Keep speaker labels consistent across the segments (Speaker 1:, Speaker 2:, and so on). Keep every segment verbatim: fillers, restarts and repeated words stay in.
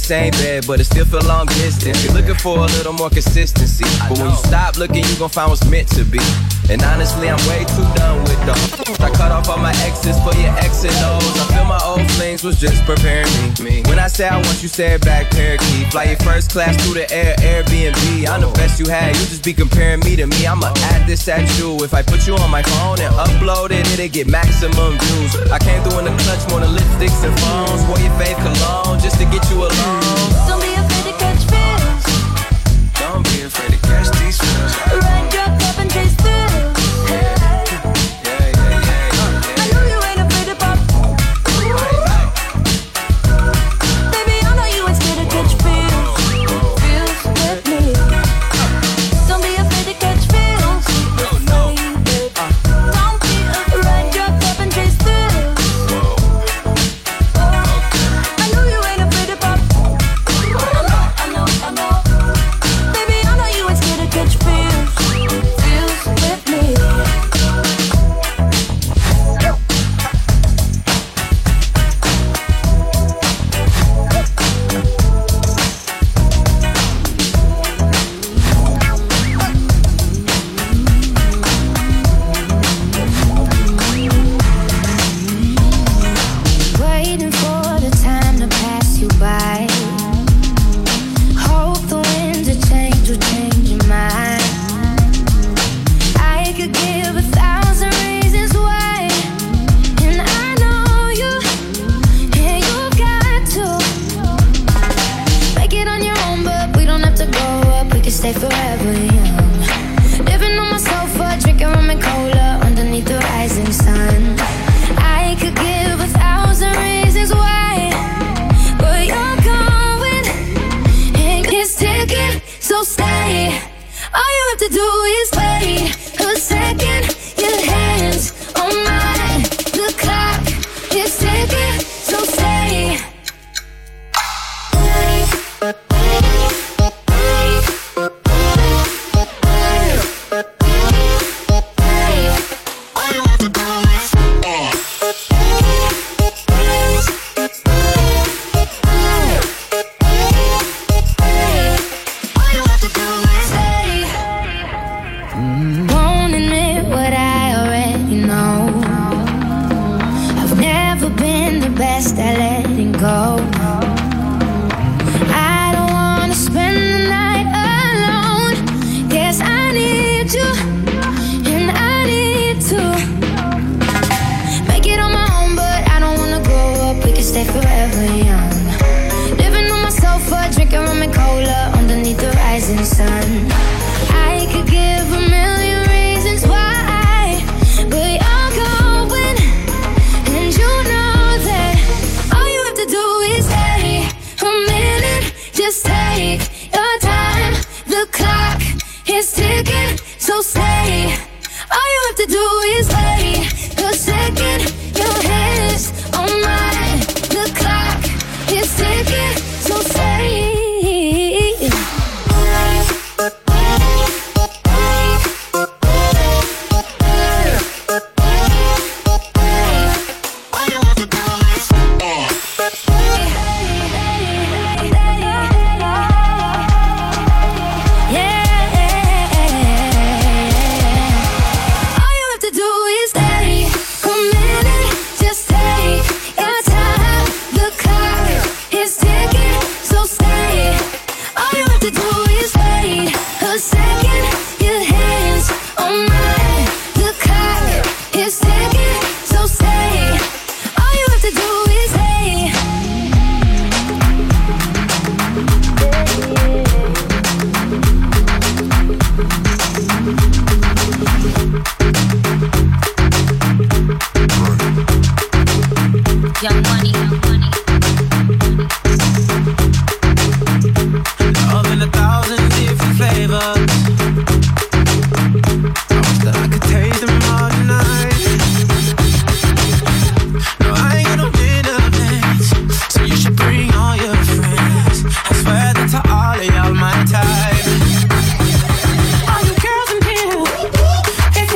Speaker 1: same bed, but it still feel long distance. You're looking for a little more consistency, but when you stop looking, you gon' find what's meant to be. And honestly, I'm way too done with them. I cut off all my exes for your X and O's. I feel my old flings was just preparing me. When I say I want you, say it back, parakeet. Fly your first class through the air, Airbnb. I'm the best you had, you just be comparing me to me. I'ma add this at you. If I put you on my phone and upload it, it'll get maximum views. I came through in the clutch more than lipsticks and phones. Wore your fave cologne just to get you alone.
Speaker 2: Don't be afraid to catch feels.
Speaker 1: Don't be afraid to catch these feels.
Speaker 2: Run your cup and taste through.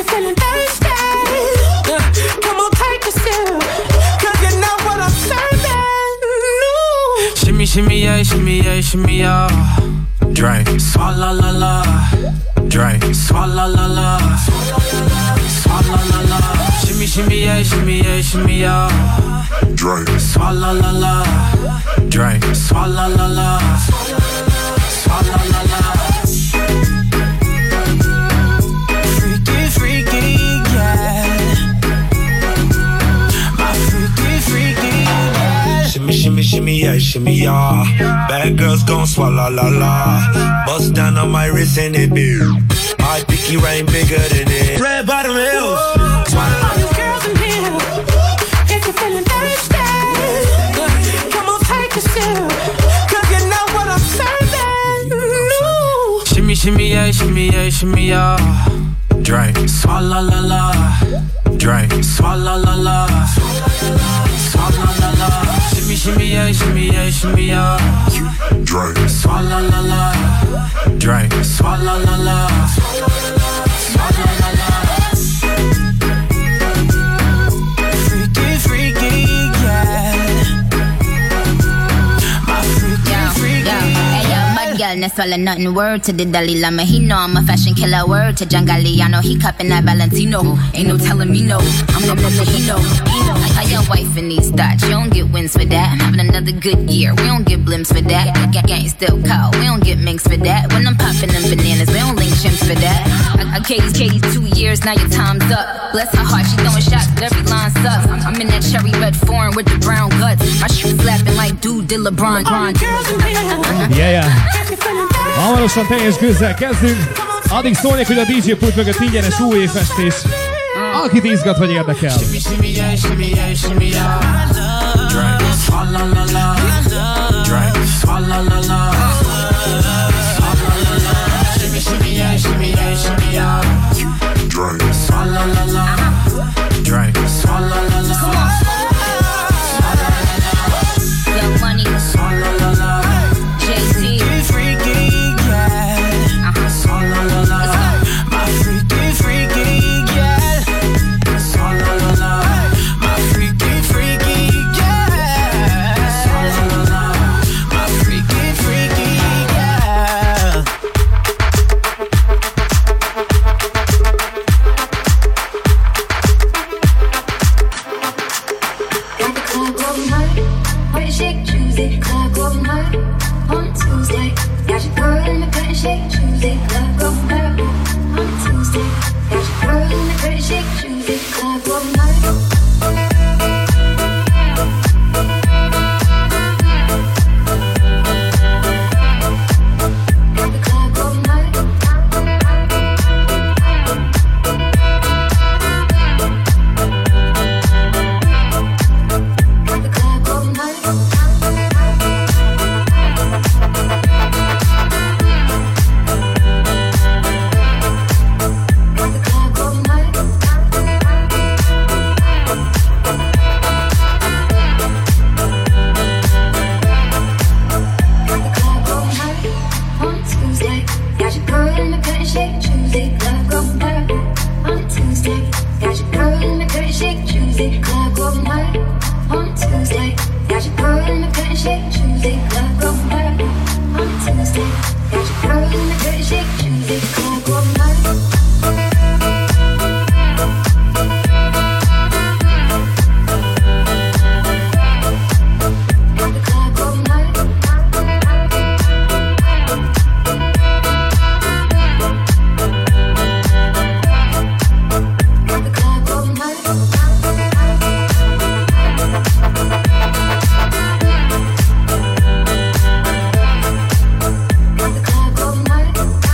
Speaker 3: Come on, take a sip, 'cause you know what I'm serving. shimmy, yeah, shimmy, yeah, shimmy, yeah. Drink, swalla la la. Drink, swalla la la. Swalla la la. Shimmy, shimmy, yeah, shimmy, yeah, shimmy, yeah. Drink, swalla la la. Drink, swalla la la. Swalla la la. Freaky, freaky, yeah. My freaky, freaky, yeah. Shimmy, shimmy, shimmy, yeah, shimmy, yeah. Bad girls gon' swallow la la. Bust down on my wrist and it be. My pinky ring bigger than it. Red bottom heels.
Speaker 2: All you girls in here, if you're feeling thirsty, come on, take a sip, 'cause you know what I'm serving. Ooh.
Speaker 3: Shimmy, shimmy, yeah, shimmy, yeah, shimmy, yeah. Drink, swalla la la. Drink, swalla la la. Swalla la la. Shimmy, shimmy, yeah, shimmy, yeah, shimmy, yeah. Drink, swalla la la. Drink, swalla la la. Swalla la la. Freaky, freaky, yeah. My freaky,
Speaker 4: Yo,
Speaker 3: freaky.
Speaker 4: yo, hey yo, bad girl, no swallow nothing. Word to the Dalai Lama, he know I'm a fashion killer. Word to John Galliano, he cupping that Valentino. Ain't no telling me no, I'm the one that he know. Like how your wife in these thoughts, you don't get wins for that. I'm having another good year, we don't get blimps for that. Gang, gang still call, we don't get minks for that. When I'm popping them bananas, we don't link chimps for that. I, I Katie's, Katie's two years, now your time's up. Bless her heart, she throwing shots, but every line sucks. I'm, I'm in that cherry red foreign with the brown guts. My shoes slapping like dude did LeBron.
Speaker 2: All you girls in here,
Speaker 5: Yeah, yeah.
Speaker 2: if you're feeling thirsty,
Speaker 5: Hamarosan teljes gőzzel kezdünk. Addig szólnék, hogy a dé dzsé pult mögött ingyenes újévfestés. Akit izgat vagy érdekel.
Speaker 3: Shimmy, shimmy, yeah, shimmy, yeah, shimmy, yeah. Drink, swalla la la. Drink, swalla la la. Swalla la la. Shimmy, shimmy, yeah, shimmy, yeah, shimmy, yeah. Drink, swalla la la. Drink, swalla la la. Swalla la la.
Speaker 4: Young Money,
Speaker 3: Swalla la la.
Speaker 4: Jay-Z.
Speaker 3: Freaky, yeah. Swalla la la. My freaky, freaky, yeah. Swalla la la. My freaky, freaky, yeah. Swalla la la. My freaky, freaky, yeah.
Speaker 2: got the club going hard. Party shake Tuesday, club going hard. On Tuesday, got your girl in the curtain shake Tuesday, club going hard. On Tuesday, got your girl in the curtain shake Tuesday, club going hard. Got the club going hard. Got the club going hard. Got the club going hard. Got the club going hard. On Tuesday, got your girl in the curtain shake Tuesday, club going hard. On Tuesday, got your girl in the curtain shake Tuesday, club going hard. On Tuesday, got your girl in the curtain shake Tuesday, club going hard. On Tuesday, got your girl in the curtain shake Tuesday, club going hard. Got the club going hard. Got the club going hard. Got the club going hard.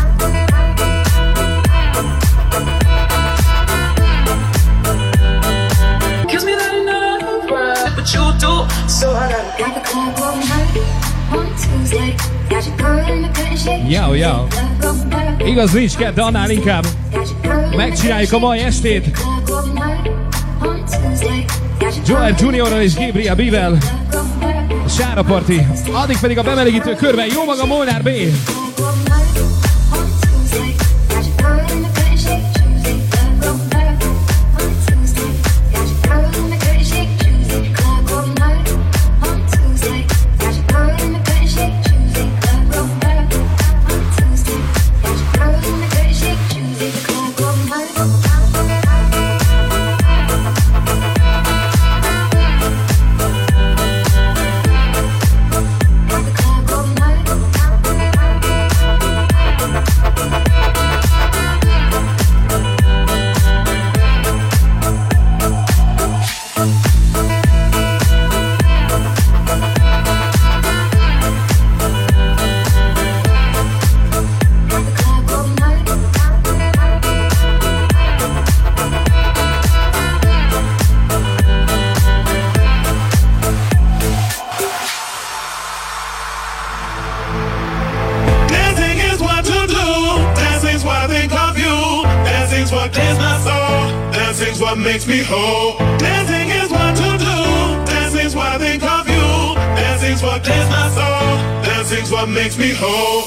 Speaker 3: Kiss me that enough, but you do, so I gotta.
Speaker 2: Got the club going hard. On Tuesday, got your girl in the curtain shake
Speaker 5: Yo, yo.
Speaker 2: club going hard.
Speaker 5: Igaz, nincs kedd, de annál inkább
Speaker 2: Got your girl in the
Speaker 5: megcsináljuk a mai estét.
Speaker 2: club going hard. On Tuesday, got your
Speaker 5: Joel Juniorral és Gabriel B-vel.
Speaker 2: club going hard.
Speaker 5: A Sára Party. Addig pedig a bemelegítő körben jó maga Molnár B.
Speaker 2: Club going hard. On Tuesday, got your girl in the curtain shake Tuesday, club going hard. On Tuesday, got your girl in the curtain shake Tuesday, club going hard. On Tuesday, got your girl in the curtain
Speaker 6: makes me whole. Dancing is what to do. Dancing's what I think of you. Dancing's what clears my soul. Dancing's what makes me whole.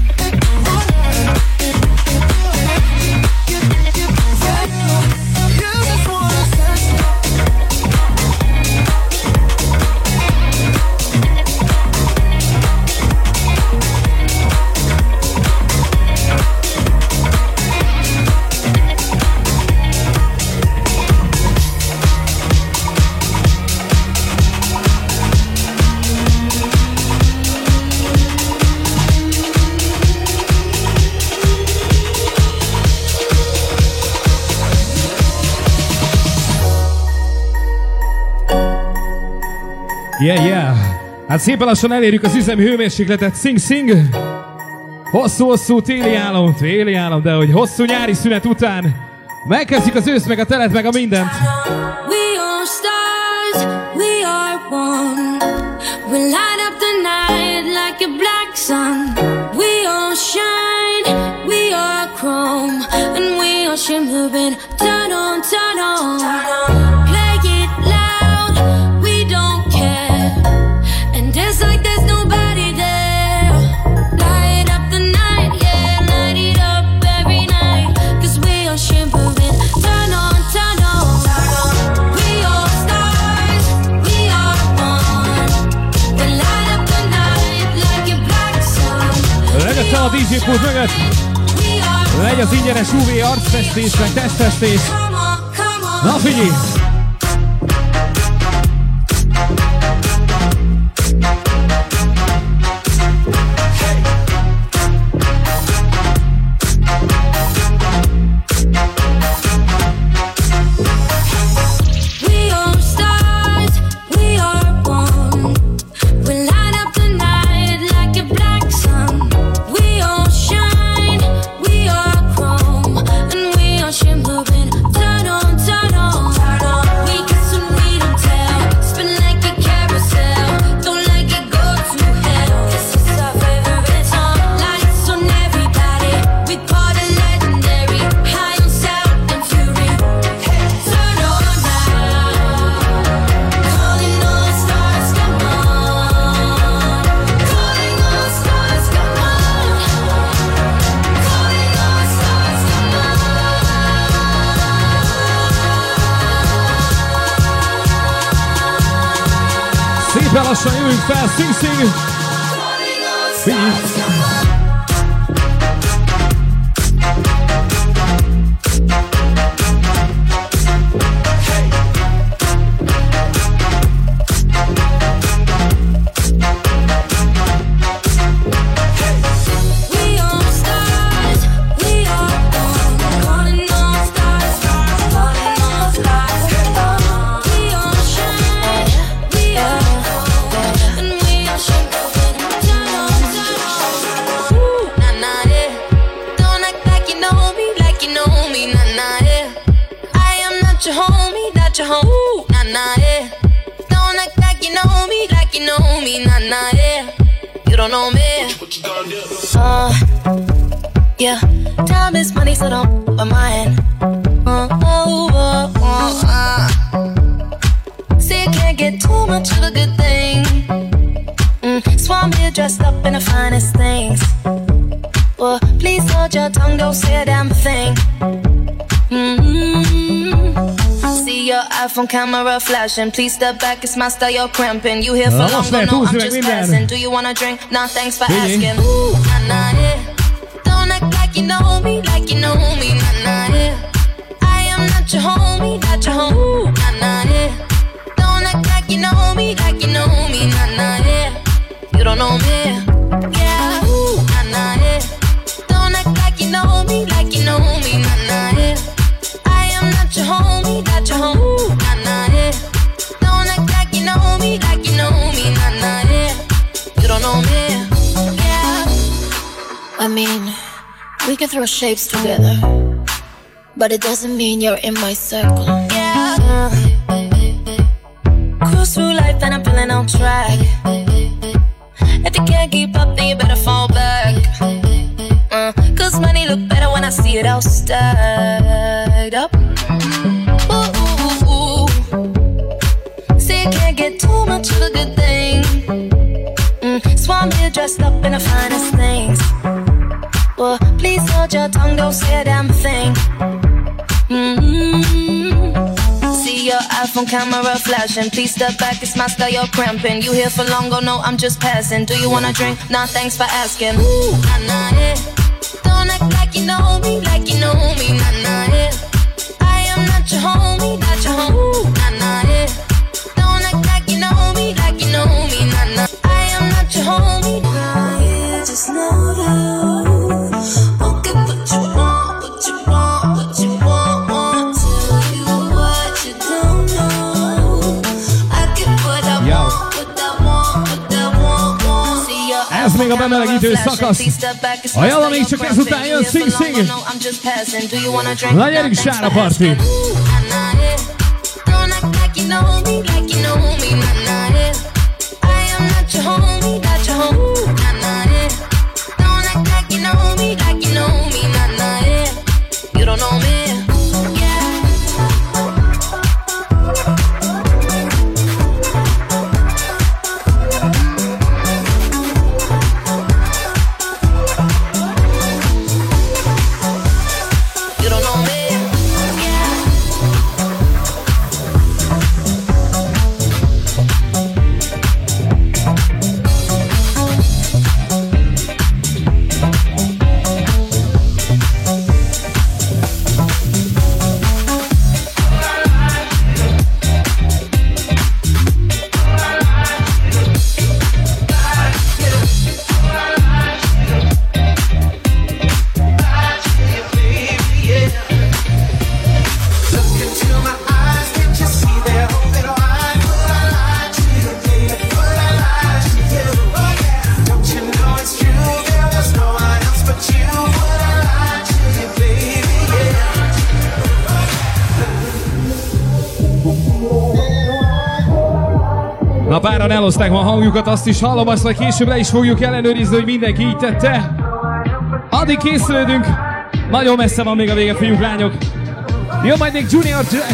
Speaker 7: You
Speaker 5: Yeah, yeah. Hát szépen lassan elérjük az üzemi hőmérsékletet. Sing, sing. Hosszú-hosszú téli álom, téli álom, de hogy hosszú nyári szünet után megkezdjük az ősz, meg a telet, meg a mindent.
Speaker 2: We are stars, we are one. We light up the night like a black sun. We all shine, we are chrome, and we are shimmering. Turn on, turn on. Play it loud, we don't care. And it's like there's nobody there. Light up the night, yeah, light it up every night. Cause we are shimmering. Turn on, turn on. We are stars, we are one. We light up the night like a black sun.
Speaker 5: Legyen fel a dé jé pult mögött. Legy az ingyenes u vé arcfestés, meg testfestés. Na figyelj! Szépen lassan jövünk fel, sing, sing! Sing!
Speaker 7: Uh, yeah, time is money, so don't put mine. Uh, oh, oh, oh, uh. See, I can't get too much of a good thing. Mm, so I'm here dressed up in the finest things. Well, please hold your tongue, don't say a damn thing. Mm-hmm. See your iPhone camera flashing. Please step back, it's my style, you're cramping. You here for
Speaker 5: Na,
Speaker 7: long, no, I'm just passing. Do you wanna drink? Nah, thanks for asking. Ooh, nah, nah, yeah. Don't act like you know me, like you know me, nah, nah, yeah. I am not your homie, not your homie, ooh, nah, nah, yeah. Don't act like you know me, like you know me, nah, nah, yeah. You don't know me, yeah, ooh, nah, nah, yeah. Don't act like you know me, like you know me, nah, nah, yeah. I am not your homie, not your homie, ooh, nah, nah, yeah. Don't act like you know me, like you know me, nah, nah, yeah. You don't know me, yeah. I mean, we can throw shapes together, but it doesn't mean you're in my circle, yeah. Uh, cruise through life and I'm feeling on track. If you can't keep up, then you better fall back. Uh, Cause money look better when I see it all stacked up. Ooh, ooh, ooh. See, you can't get too much of a good thing. Mm, so I'm here dressed up in the finest things. Well, please hold your tongue, don't say a damn thing. Mm-hmm. See your iPhone camera flashing. Please step back, it's my style, you're cramping. You here for long, oh no, I'm just passing. Do you wanna drink? Nah, thanks for asking. Ooh, nah, nah, yeah. Don't act like you know me, like you know me, nah, nah, yeah. I am not your homie, not your homie, ooh, nah, nah, yeah. Don't act like you know me, like you know me, nah, nah. I am not your homie, nah, yeah, just know you. Okay, what you want, what you want, what you want, want. Tell you what you don't know. I get what I
Speaker 5: Yo.
Speaker 7: want, what
Speaker 5: még a bemelegítő szakasz. Ajánlom, még csak ezután jön Sing Sing. Na gyerünk, Sára Parti! Na páran elhozták ma a hangjukat, azt is hallom, azt majd később le is fogjuk ellenőrizni, hogy mindenki így tette. Addig készülődünk. Nagyon messze van még a vége, fiúk, lányok. Jön majd még Junior Jack.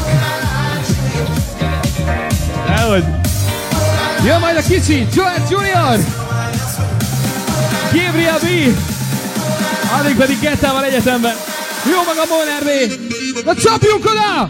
Speaker 5: Elhogy. Jön majd a kicsi, Joel Junior. Gabriel B. Addig pedig Gettával egyetemben. Jó maga Molnár B. Na csapjunk oda!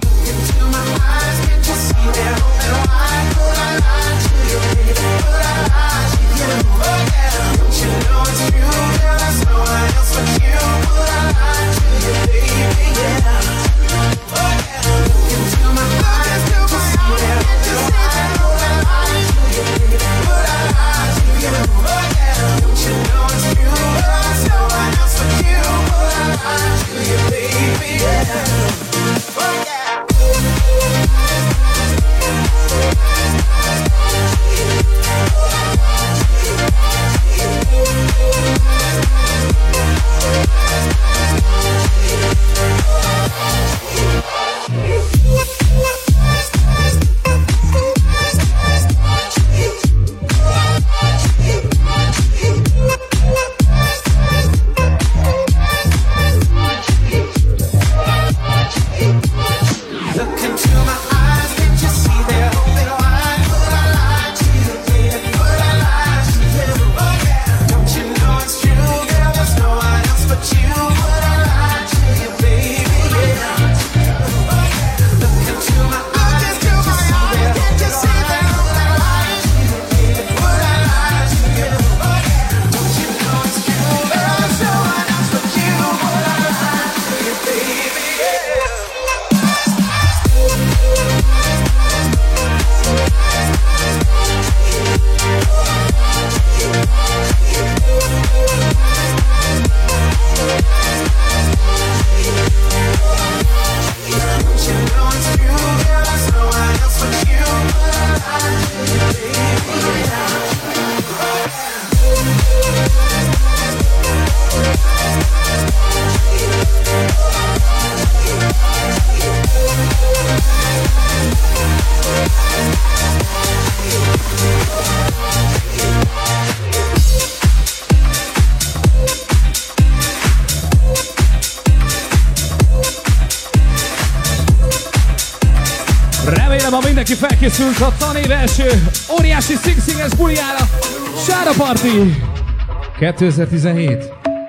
Speaker 5: Ma mindenki felkészült a tanév első óriási Sing Sing-es buliára. Sára Parti kétezer-tizenhét.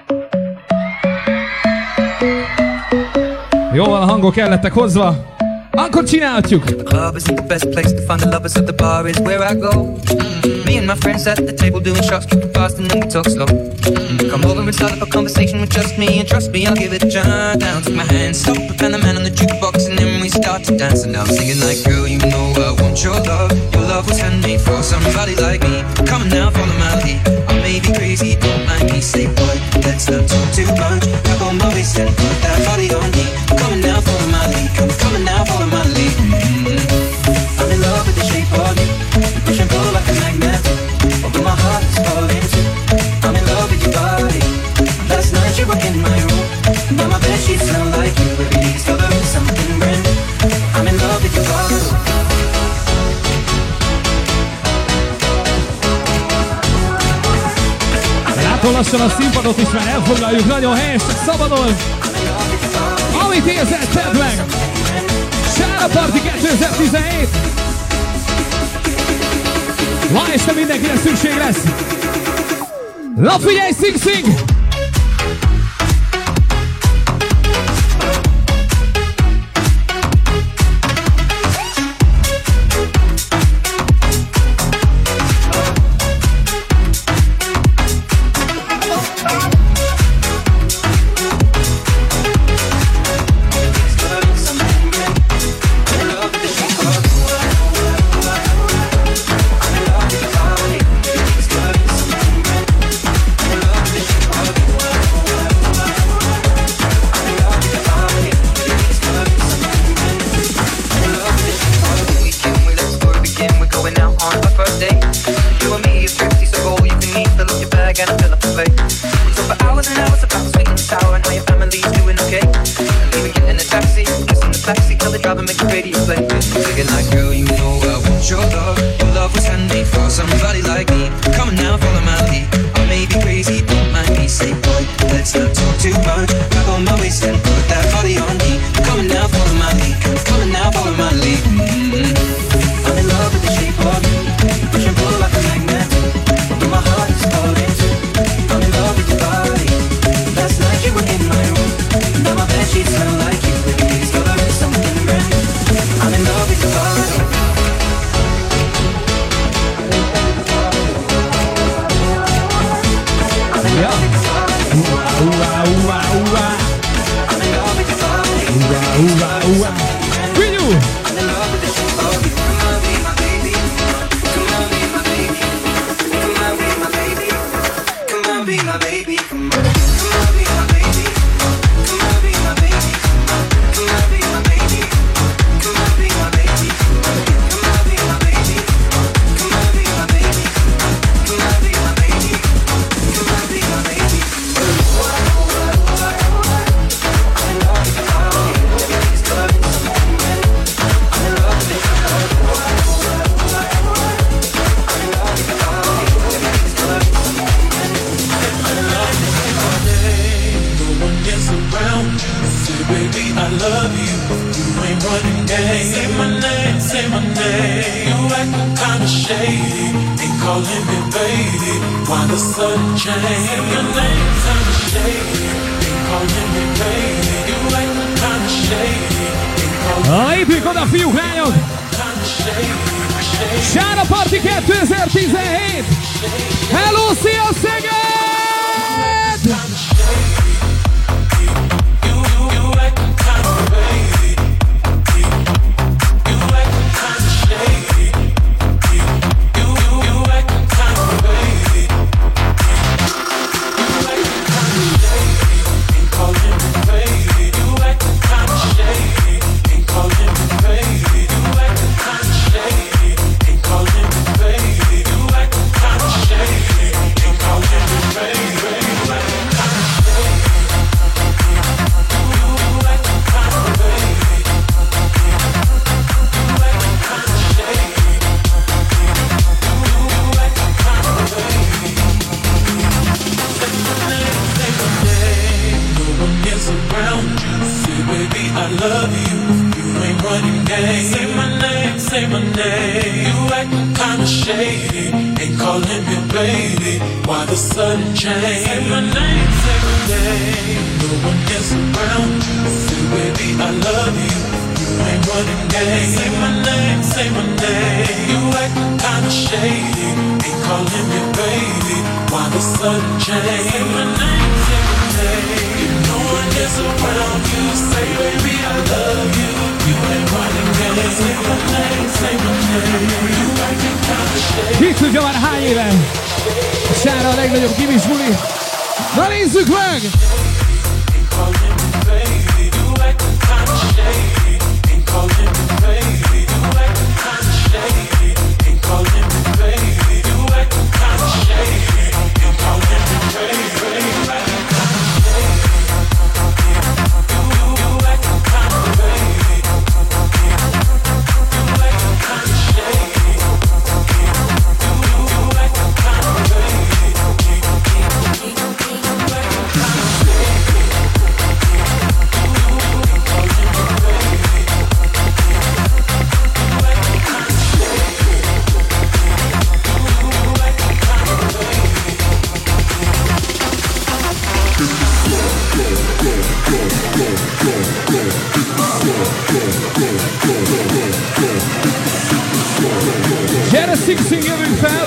Speaker 5: Jó van, a hangok el lettek hozva. Akkor csinálhatjuk. The club isn't the best place to find the lovers, so the bar is where I go. Mm-hmm. Me and my friends at the table doing shots, tripping fast and then we talk slow. Mm-hmm. Come over and start up a conversation with just me, and trust me, I'll give it a try. Down, take my hand, stop, and the man on the jukebox, and then we start to dance. And I'm singing like, girl, you know I want your love. Your love was handmade for somebody like me. Come on now, follow my lead. I may be crazy, don't mind me. Say, boy, let's not talk too much. Grab on my waist and put that body on me. Come on now, follow my lead. Come, come on now, follow my lead. Mm-hmm. I'm in love with the shape of you. We push and pull like a magnet. Although my heart is falling too. I'm in akkor lassan a színpadot is már elfoglaljuk, nagyon helyes, szabadon! Amit érzel, tedd meg! Sára Party kétezer-tizenhét! Ma este mindenkire szükség lesz! Na figyelj, Sing Sing! Lépjünk oda, fiúk, lányok! Sára Party kétezer-tizenhét! Hello, szia Szeged! Ki tudja már hány éve? Sára a legnagyobb gimis buli. Na nézzük meg!
Speaker 2: We'll be right back.
Speaker 5: Emeljük fel!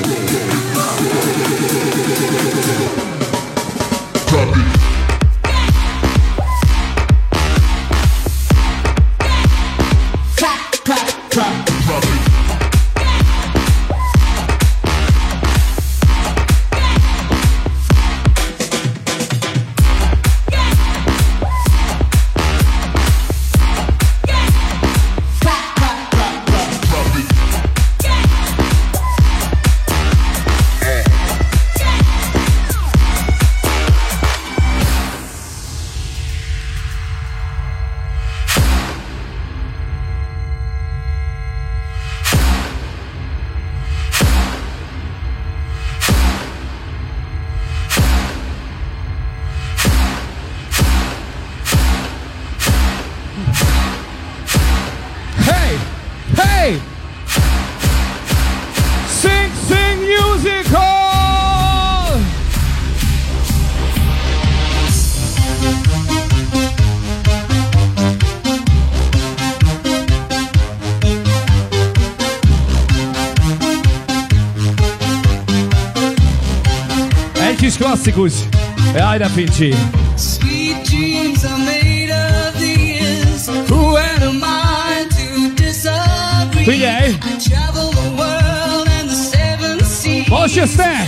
Speaker 5: Klasszikus. Jaj, de Fincsi. Sweet dreams are made of these. Who am I to disagree? Figyelj! I travel the world and the seven seas. Most jössz te!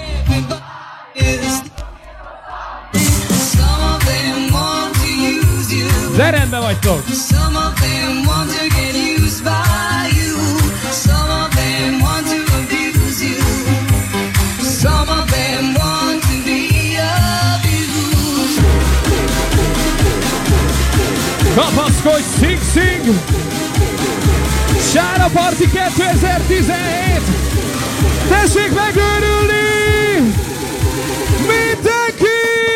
Speaker 5: De rendben vagytok! Some of them want to get used by you. Some of them want to abuse you. Some of them want to be abused. Kapaszkodj, Sing Sing! Sára Party kétezer-tizenhét! Tessék megőrülni! Mindenki!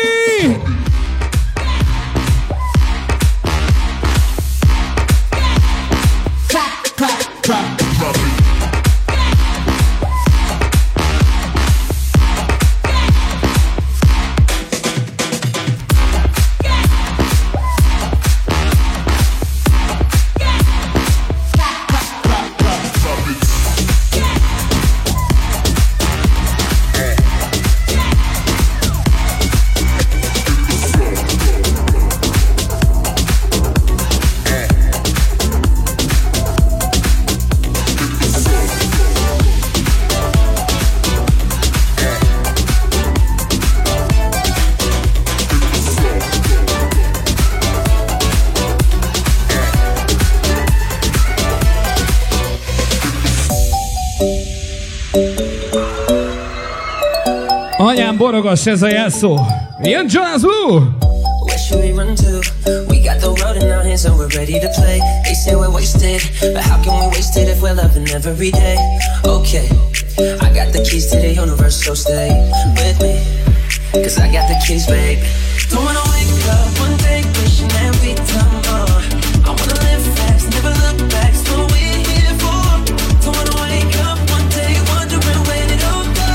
Speaker 5: Anyám borogas, ez a jelszó. Jön Jonas Blue!
Speaker 8: Where should we run to? We got the road in our hands and we're ready to play. They say we're wasted, but how can we waste it if we're loving every day? Okay, I got the keys to the universe, so stay with me, cause I got the keys, babe. Don't wanna wake up one day wishing that we'd done more. I wanna live fast, never look back, so we're here for. Don't wanna wake up one day wondering where it all go.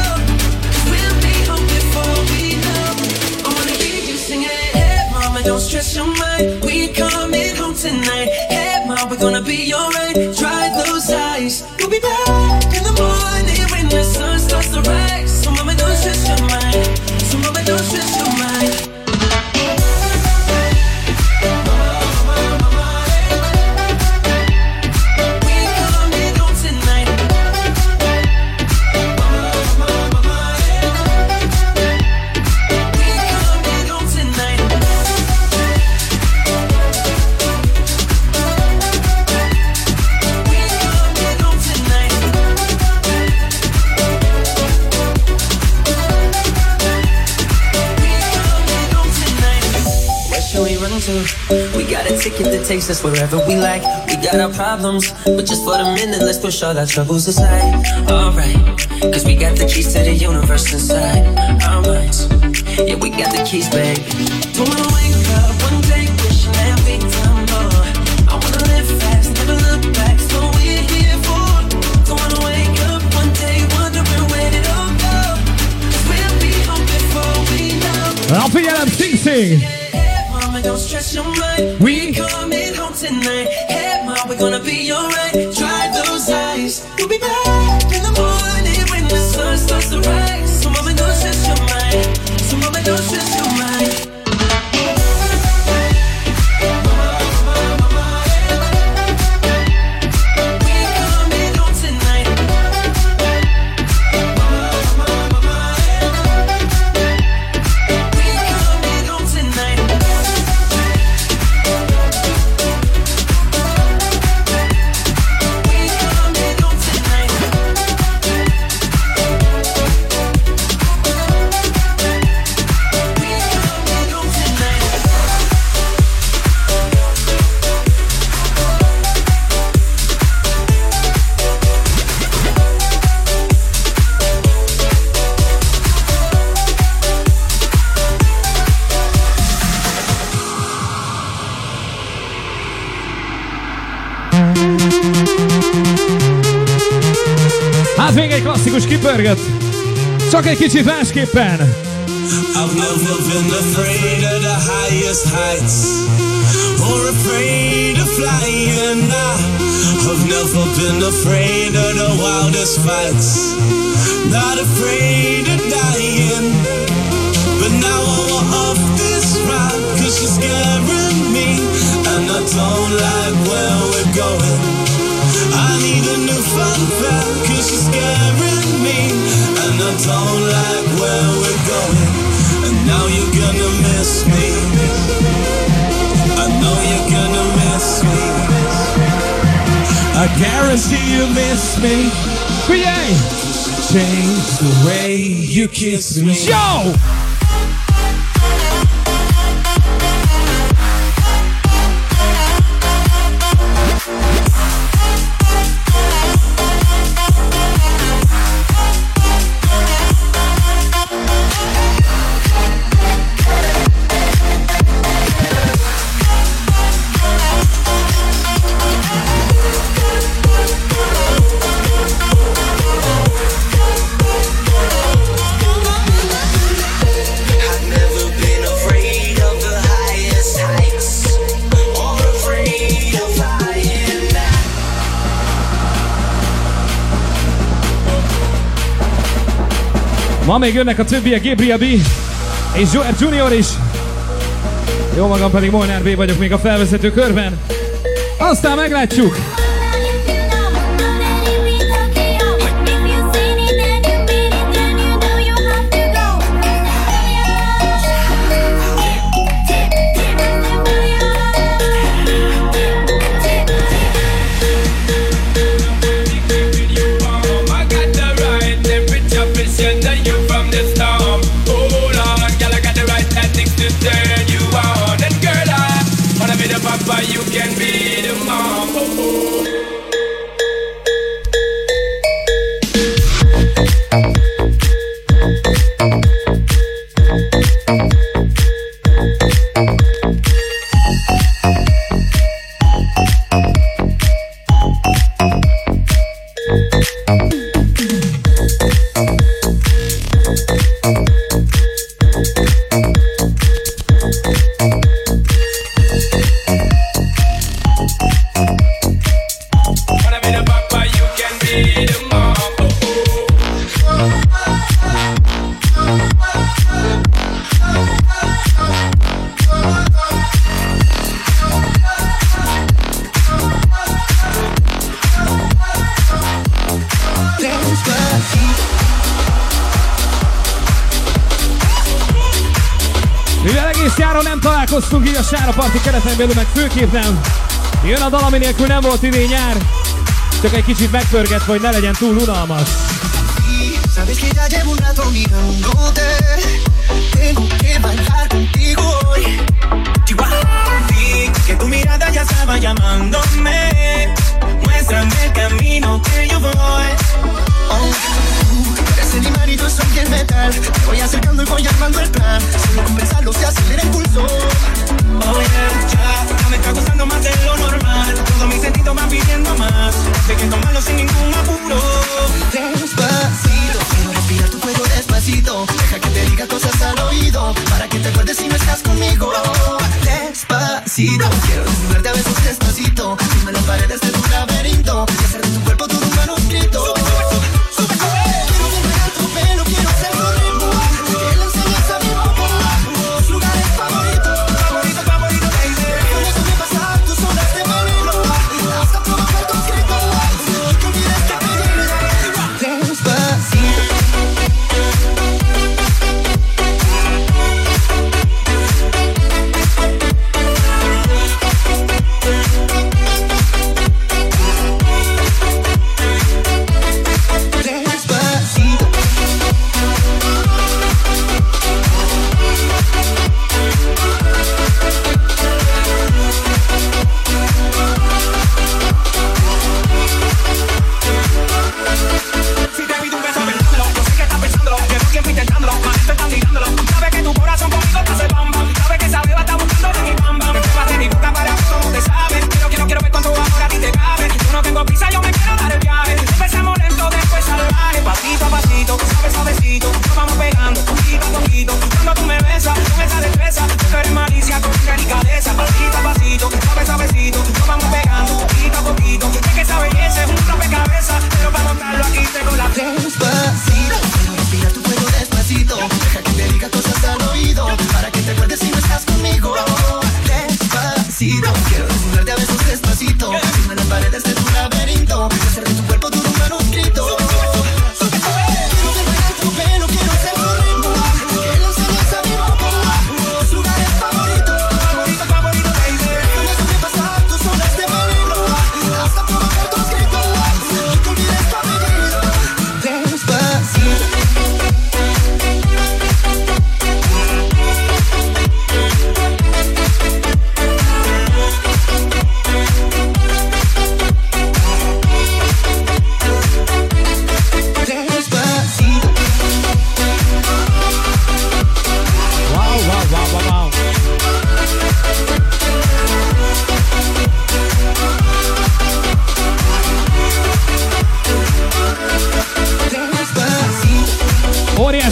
Speaker 8: Don't stress your mind, we coming home tonight. Hey ma, we're gonna be alright. Dry those eyes, we'll be back in the morning when the sun starts to rise. So mama, don't stress your mind. So mama, don't stress your mind. We got a ticket that takes us wherever we like. We got our problems, but just for the minute, let's push all our troubles aside. Alright, cause we got the keys to the universe inside our minds. Yeah, we got the keys, baby. Don't wanna wake up one day wishing that we'd done more. I wanna live fast, never look back, so we're here for. Don't wanna wake up one day wondering where it all go. Cause we'll be home before we know.
Speaker 5: I'll figyelem, Sing Sing!
Speaker 8: Don't stress your mind, we coming home tonight. Hey ma, we're gonna be alright. Dry those eyes, we'll be back in the morning So mama, don't stress your mind. So mama, don't stress your mind.
Speaker 5: Hát még egy klasszikus kipörgött, csak egy kicsit másképpen.
Speaker 6: I've never been afraid of the highest heights or afraid of flying. I've never been afraid of the wildest fights, not afraid of dying. But now I'm off this ride, cause she's scaring me, and I don't like where we're going. I need a new fun fact, cause she's scaring me, and I don't like where we're going. And now you're gonna miss me, I know you're gonna miss me, I guarantee you miss me.
Speaker 5: Figyelj!
Speaker 6: Change the way you kiss me.
Speaker 5: Yo! Ma még jönnek a többiek, Gabriel B. és Joel Junior is. Jó magam pedig Molnár B vagyok még a felvezető körben. Aztán meglátjuk.
Speaker 3: But you can be the mom. Oh, oh.
Speaker 5: Mivel egész nyáron nem találkoztunk így a Sára Parti kereten belül, meg főképp nem. Jön a dal, ami nélkül nem volt idén nyár. Csak egy kicsit megpörgetve, hogy ne legyen túl unalmas.
Speaker 9: Sabes que ya llevo un rato mirándote. Tengo que bailar contigo hoy. Sí, que tu mirada ya estaba llamándome. Muéstrame el camino que yo voy. Oh, tú eres el imán y yo soy el metal. Me voy acercando y voy armando el plan. Solo con pensarlo se acelera el pulso. Oh yeah, ya, ya me está gustando más de lo normal. Todos mis sentidos van pidiendo más. Sé que tomarlo sin ningún apuro. Despacito, quiero respirar tu cuello despacito. Deja que te diga cosas al oído, para que te acuerdes si no estás conmigo. Despacito, quiero desnudarte a besos despacito. Firme las paredes de tu laberinto y hacer de tu cuerpo todo un manuscrito. Quiero volver a tu pelo, quiero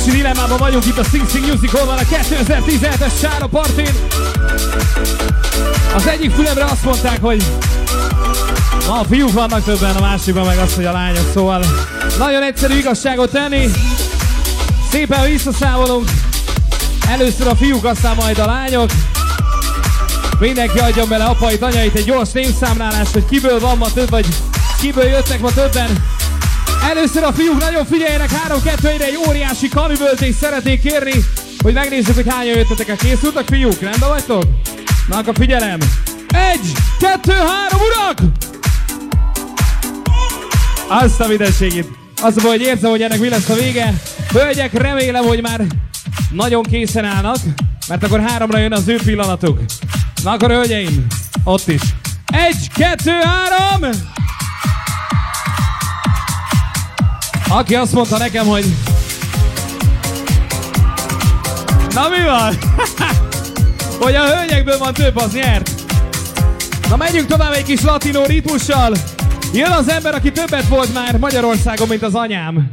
Speaker 5: Óriási dilemmában vagyunk itt a Sing Sing Music Hall-ban a kétezer-tizenhetes Sára Partin. Az egyik fülemre azt mondták, hogy na, a fiúk vannak többen, a másikban meg azt, hogy a lányok, szóval nagyon egyszerű igazságot tenni. Szépen visszaszámolunk. Először a fiúk, aztán majd a lányok. Mindenki adjon bele apait, anyait egy gyors névszámlálás, hogy kiből van ma több, vagy kiből jöttek ma többen. Először a fiúk, nagyon figyeljenek, három kettő egyre egy óriási kamiböltést szeretnék kérni, hogy megnézzük, hogy hányan jöttetek. Készültek fiúk? Rendben vagytok? Na akkor figyelem! Egy, kettő, három, urak! Azt a mindenségét. Azt mondom, hogy érzem, hogy ennek mi lesz a vége. Hölgyek, remélem, hogy már nagyon készen állnak, mert akkor háromra jön az ő pillanatuk. Na akkor hölgyeim, ott is. Egy, kettő, három! Aki azt mondta nekem, hogy... Na mi van? Hogy a hölgyekből van több, az nyert. Na menjünk tovább egy kis latinó ritmussal. Jön az ember, aki többet volt már Magyarországon, mint az anyám.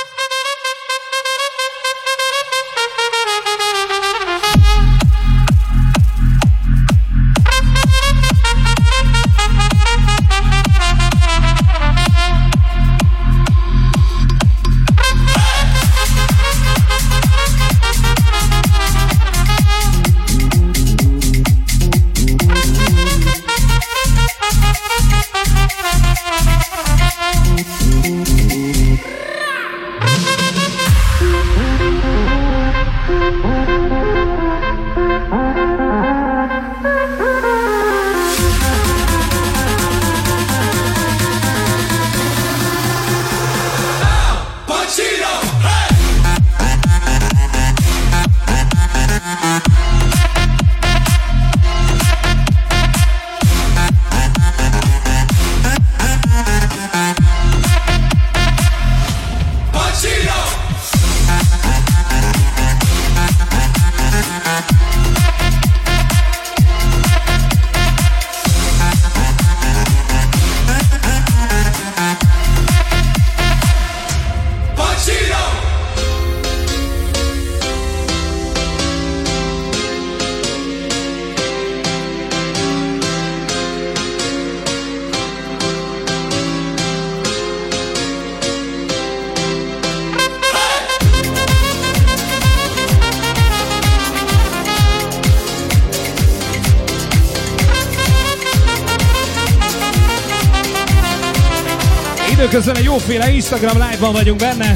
Speaker 5: Közben egy jóféle Instagram live-ban vagyunk benne.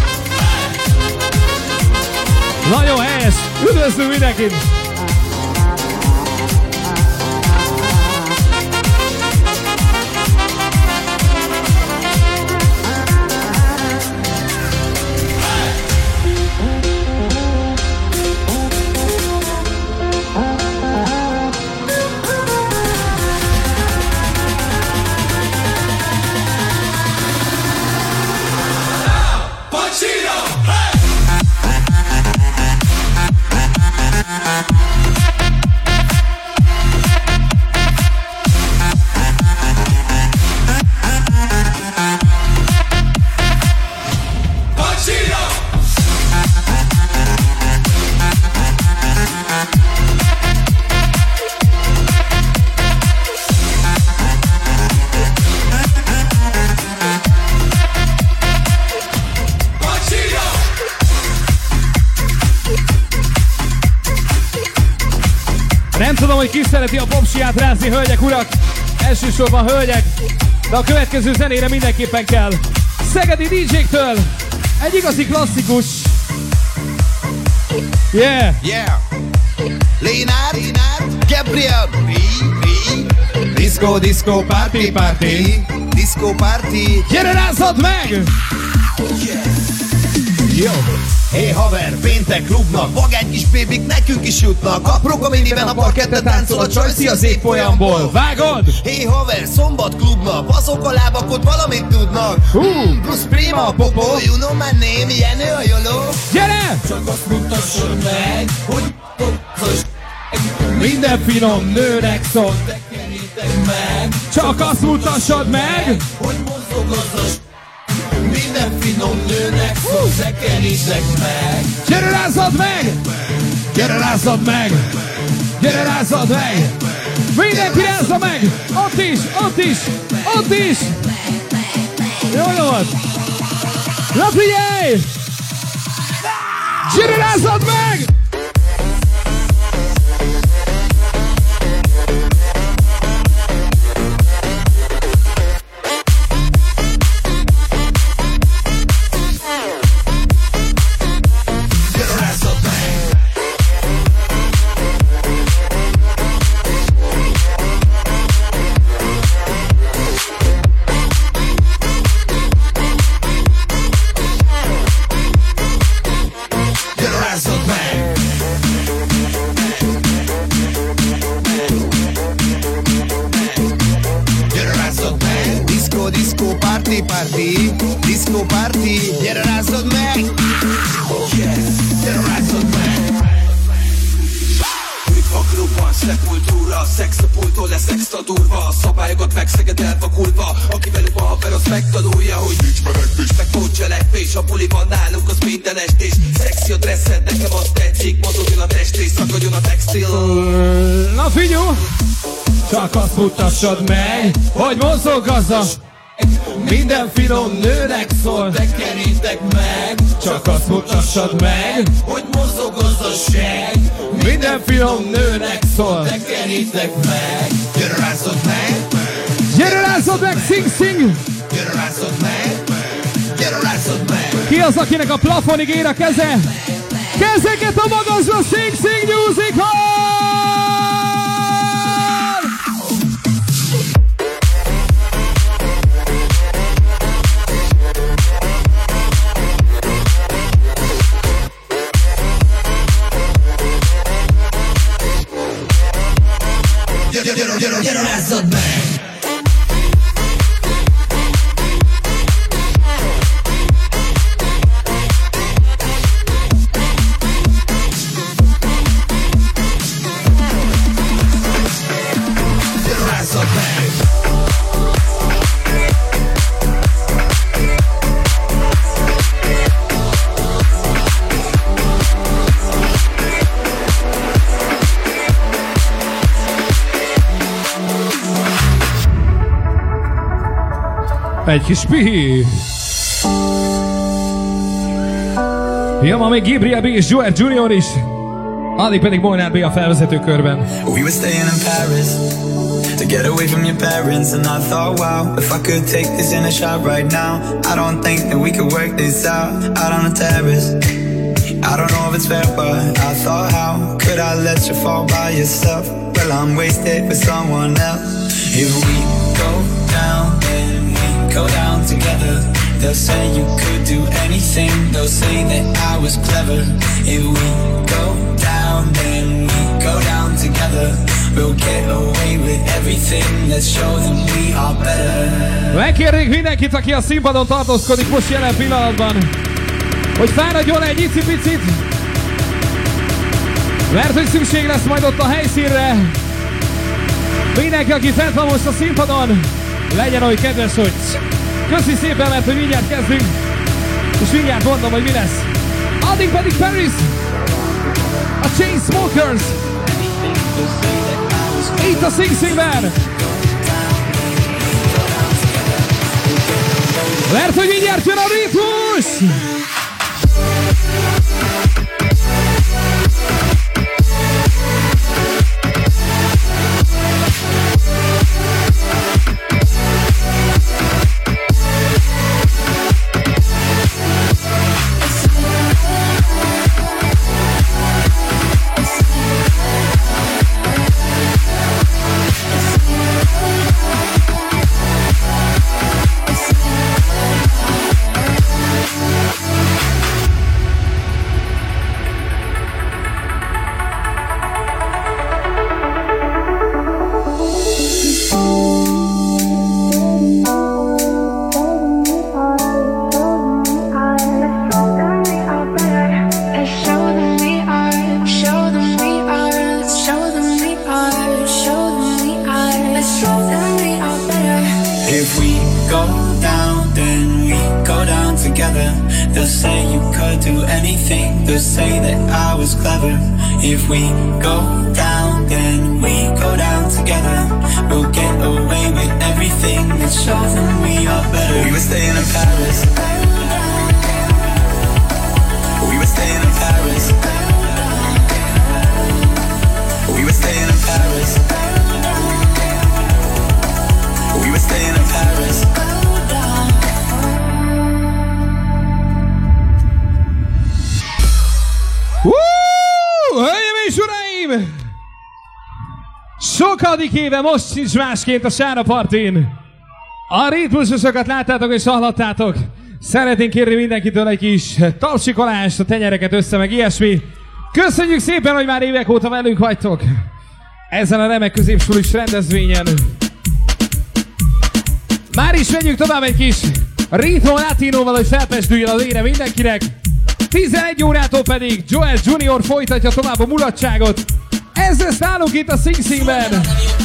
Speaker 5: Nagyon helyes! Üdvözlünk mindenkit! Nem tudom, hogy ki szereti a popsiát rázni, hölgyek, urak. Elsősorban hölgyek, de a következő zenére mindenképpen kell. Szegedi dé dzséktől egy igazi klasszikus. Yeah!
Speaker 10: Yeah! Lénár, Gabriel,
Speaker 5: Disco, disco, party, party.
Speaker 10: Disco party.
Speaker 5: Gyere, rázzad meg!
Speaker 10: Yeah. Jó! Hé haver, péntek klubnak, vagány kis bébik nekünk is jutnak. Apróka miniben a parkette táncol, a csajszi az évfolyamból.
Speaker 5: Vágod?
Speaker 10: Hé haver, szombat klubnak, azok a lábak ott valamit tudnak.
Speaker 5: uh.
Speaker 10: Plusz prima a popó, you know my name, Jenő a joló.
Speaker 5: Gyere!
Speaker 10: Csak azt mutassad meg, hogy popos.
Speaker 5: Minden finom nőnek szól. Csak azt mutassad meg,
Speaker 10: hogy mozog az a minden finom nőnek szól. tekerítek meg.
Speaker 5: Gyere rázzad meg! Gyere rázzad meg! Gyere rázzad meg! Mindenki rázza meg! Ott is, ott is, ott is! Jó volt! Na figyelj! Gyere rázzad meg!
Speaker 10: Party, disco party, gyere rázzad meg! Yes, gyere rázzad meg!
Speaker 11: A klubban, szekkultúra, szex a pultól lesz extra durva. Szabályokat megszeged elvakulva. Aki velük van haver, az megtanulja, hogy nincs menekvés, meg pótcselekvés. A buliban nálunk az minden estés. Szexi a dresszed, nekem azt tetszik. Mozogjon a testés, szakadjon a textil.
Speaker 5: Na figyelj! Csak azt mutassad meg, hogy mozog az a... Minden finom nőnek szól,
Speaker 10: tekerítek meg.
Speaker 5: Csak azt mutassad meg,
Speaker 10: hogy mozog az a seg.
Speaker 5: Minden finom nőnek szól,
Speaker 10: tekerítek meg. Gyere rázzad meg!
Speaker 5: Gyere rázzad meg, Sing Sing!
Speaker 10: Gyere rázzad meg! Gyere rázzad meg!
Speaker 5: Ki az, akinek a plafonig ér a keze? Kezeket a magasra, Sing Sing Music Hall!
Speaker 10: Gyere, gyere, gyere, rázzad meg! Gyere, rázzad meg!
Speaker 5: Egy kis pihi! Jön ma még Gabriel B. és Joel Junior is. Addig pedig Molnár B. a felvezető körben.
Speaker 12: We were staying in Paris to get away from your parents, and I thought, wow, if I could take this in a shot right now, I don't think that we could work this out out on the terrace. I don't know if it's fair, but I thought, how could I let you fall by yourself? Well, I'm wasted with someone else. If we go down, then we go down together. They'll say you could do anything. They'll say that I was clever. If we go down, then we go down together. We'll get away with everything. Let's show them we are better.
Speaker 5: Megkérnék mindenkit, aki a színpadon tartózkodik most jelen pillanatban, hogy fáradjon egy icipicit, mert hogy szükség lesz majd ott a helyszínre. Mindenki, aki fent van most a színpadon, legyen olyan kedves, hogy köszi szépen, mert hogy mindjárt kezdünk, és mindjárt mondom, hogy mi lesz. Addig pedig Paris, a Chainsmokers, itt a Sing Singben. Mert hogy mindjárt jön a ritmus!
Speaker 12: together. They'll say you could do anything. They'll say that I was clever. If we go down, then we go down together. We'll get away with everything that shows them we are better. We were staying in Paris. We were staying in Paris. We were staying in Paris. We were staying in Paris.
Speaker 5: Woo! Hölgyeim és uraim! Sokadik éve most sincs másként a Sára partin. A ritmusosokat láttátok és hallottátok. Szeretnénk kérni mindenkitől egy kis tapsikolást, a tenyereket össze, meg ilyesmi. Köszönjük szépen, hogy már évek óta velünk vagytok. Ezen a remek középsulis rendezvényen. Már is menjünk tovább egy kis ritmo latinóval, hogy felpesdüljön az ére mindenkinek. tizenegy órától pedig Joel junior folytatja tovább a mulatságot. Ez lesz nálunk itt a Sing Singben.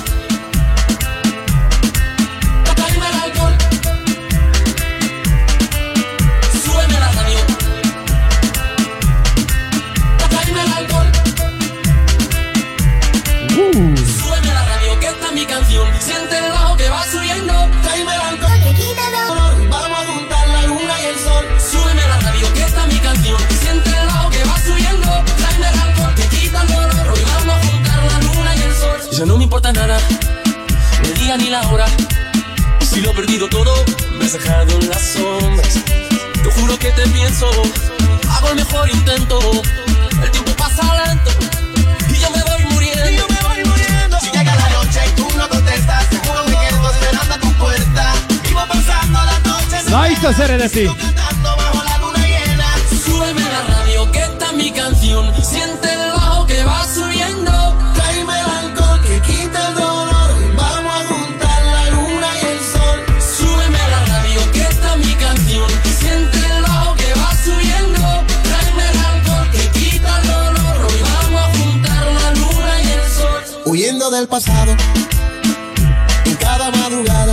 Speaker 13: Súbeme la radio que esta es mi canción. Siente el bajo que va subiendo. Tráeme el alcohol que quita el dolor. Vamos a juntar la luna y el sol. Súbeme la radio que esta es mi canción. Siente el bajo que va subiendo. Tráeme el alcohol que quita el dolor. Hoy vamos a juntar la luna y el sol. Ya no me importa nada, ni el día ni la hora. Si lo he perdido todo, me has dejado en las sombras. Te juro que te pienso, hago el mejor intento. El tiempo pasa lento y yo me voy muriendo. Y yo me voy muriendo. Si llega la noche y tú no contestas, seguro me quedo esperando a tu puerta. Vivo pasando las noches.
Speaker 5: Naita Serenity.
Speaker 13: Cantando bajo la luna llena. Súbeme la radio que esta es mi canción. Siente el bajo que va subiendo. Tráeme el alcohol que quita el dolor. Vamos a juntar la luna y el sol. Súbeme la radio que esta es mi canción. Siente el bajo que va subiendo. Tráeme el alcohol que quita el dolor. Hoy vamos a juntar la luna y el sol.
Speaker 14: Huyendo del pasado, en cada madrugada,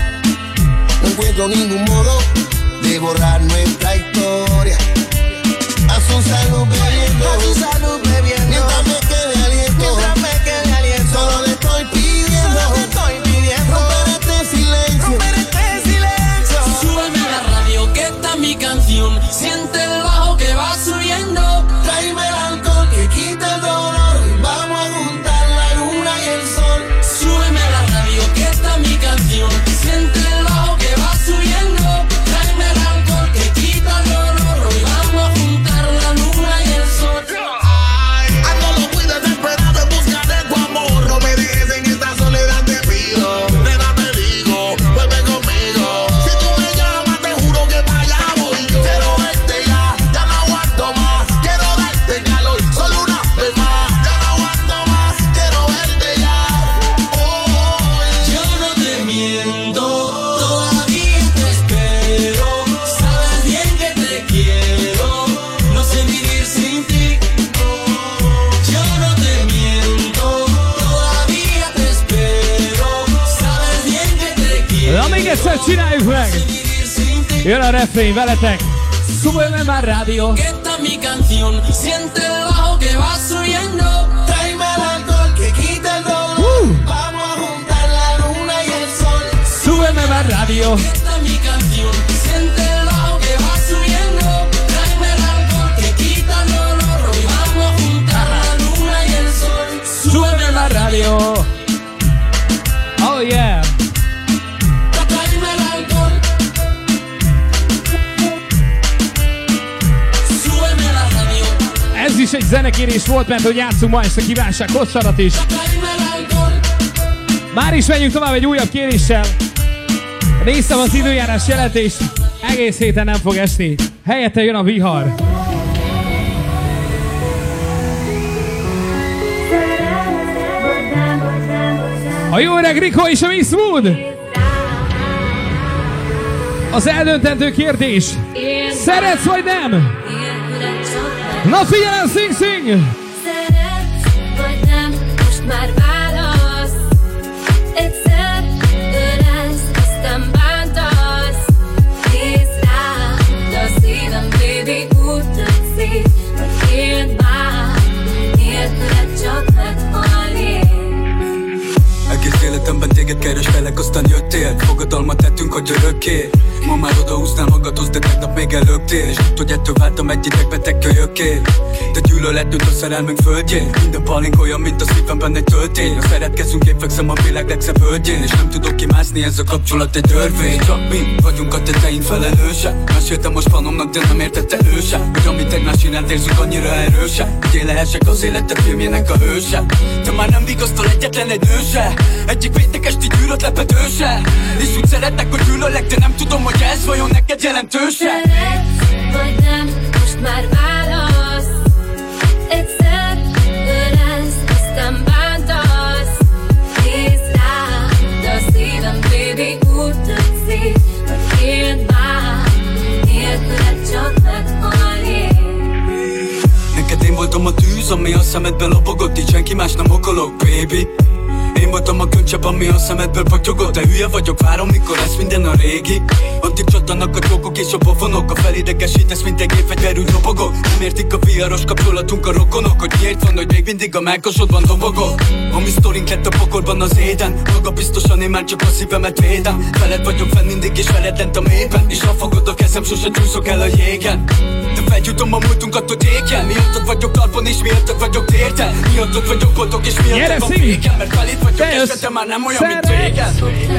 Speaker 14: no encuentro ningún modo de borrar nuestra historia. A su salud bebiendo, a su salud bebiendo, mientras me quede aliento, mientras me quede aliento, solo le estoy pidiendo, solo le estoy pidiendo, romper este silencio, romper este silencio.
Speaker 13: Súbeme la radio que esta es mi canción. Siente el bajo que va subiendo. Tráeme el alcohol que quita el dolor. Vamos a juntar la luna y el sol. Súbeme la radio que esta es mi canción. Siente el bajo que va subiendo. Tráeme el alcohol que quita el dolor. Hoy vamos a juntar la luna y el sol.
Speaker 14: Ando lo muy desesperado en busca de tu amor. No me dejes en esta soledad, te pido. Nena, te digo, vuelve conmigo. Si tú me llamas, te juro que para allá voy yo. Quiero verte ya, ya no aguanto más. Quiero darte calor, solo una vez más. Ya no aguanto más, quiero verte ya. Oh,
Speaker 13: Yo no te miento, todavía te espero. Sabes bien que te quiero, no sé vivir sin ti. Yo no te miento, todavía te espero. Sabes bien que te quiero,
Speaker 5: Na még egyszer csináljuk meg!
Speaker 13: vivir sin ti.
Speaker 5: Jön a refrén veletek! Súbeme la radio!
Speaker 13: Que esta es mi canción, siente el bajo que va subiendo. Tráeme el alcohol que quita el dolor. Vamos a juntar la luna y el sol.
Speaker 5: Súbeme la radio!
Speaker 13: Que esta es mi canción, siente el bajo que va subiendo. Tráeme el alcohol que quita el dolor. Hoy vamos a juntar la luna y el sol.
Speaker 5: Súbeme la radio! Oh yeah!
Speaker 13: Tráeme el alcohol. Súbeme la radio.
Speaker 5: Ez is egy zenekérés volt, mert hogy játszunk ma este kívánság kossarat is.
Speaker 13: Tráeme el alcohol.
Speaker 5: Már is menjünk tovább egy újabb kéréssel. Néztem az időjárás jelentést, egész héten nem fog esni. Helyette jön a vihar. A jó öreg Rico és a Miss Mood. Az eldöntendő kérdés. Szeretsz vagy nem? Na figyelem, Sing Sing!
Speaker 2: Szeretsz vagy nem, most már válasz. Egyszer ölelsz, aztán bántasz. Nézd rám, de az
Speaker 12: kölyökké. Ma már odahúznál magadhoz, de tegnap még előttél. És tudod, hogy ettől váltam egy idegbeteg kölyökké. De gyűlölet tűnt a szerelmünk földjén. Minden palink olyan, mint a szívemben egy töltény. Ha szeretkezünk, én fekszem a világ legszebb hölgyén. És nem tudok kimászni, ez a kapcsolat egy törvény. Csak mi vagyunk a tetein felelősek. Meséltem most panomnak, de nem értette ő se. Hogy amit tegnap csinált, érzünk annyira erősek, hogy én lehessek az élete filmjének a hőse. Te már nem vigasztal egyetlen egy nő se. Egyik péntek esti gyűlölt lepedőse. És úgy szeretnek, hogy gyűlölek, de nem tudom, hogy ez vajon neked jelentőse.
Speaker 2: Szeretsz, vagy nem, most már válasz. Egyszer ölelsz, aztán bántasz. Nézd rám, de a szívem, baby, úgy tetszik, hogy éld már. Nélküled csak meghalni.
Speaker 12: Neked én voltam a tűz, ami a szemedbe lopogott, így senki más nem okolok, baby. Én voltam a könycsepp, ami a szemedből patyogott. De hülye vagyok, várom, mikor lesz minden a régi. Addig csattanak a csókok és a pofonok. A felidegesítesz, mint egy gépfegyverű robogok. Nem értik a viharos kapcsolatunk a rokonok, hogy miért van, hogy még mindig a melkasodban dobogok. A mi sztorink lett a pokolban az éden. Maga biztosan én már csak a szívemet védem. Veled vagyok fenn mindig és veled lent a mélyben. És ha fogod a kezem, sose csúszok el a jégen. De felgyújtom a múltunkat, hogy éken. Miattad vagyok talpon és miattad vagyok térten. Miattad vagyok boldog és miattad van végen. Mert felét vagyok esetem már nem olyan, mint régen.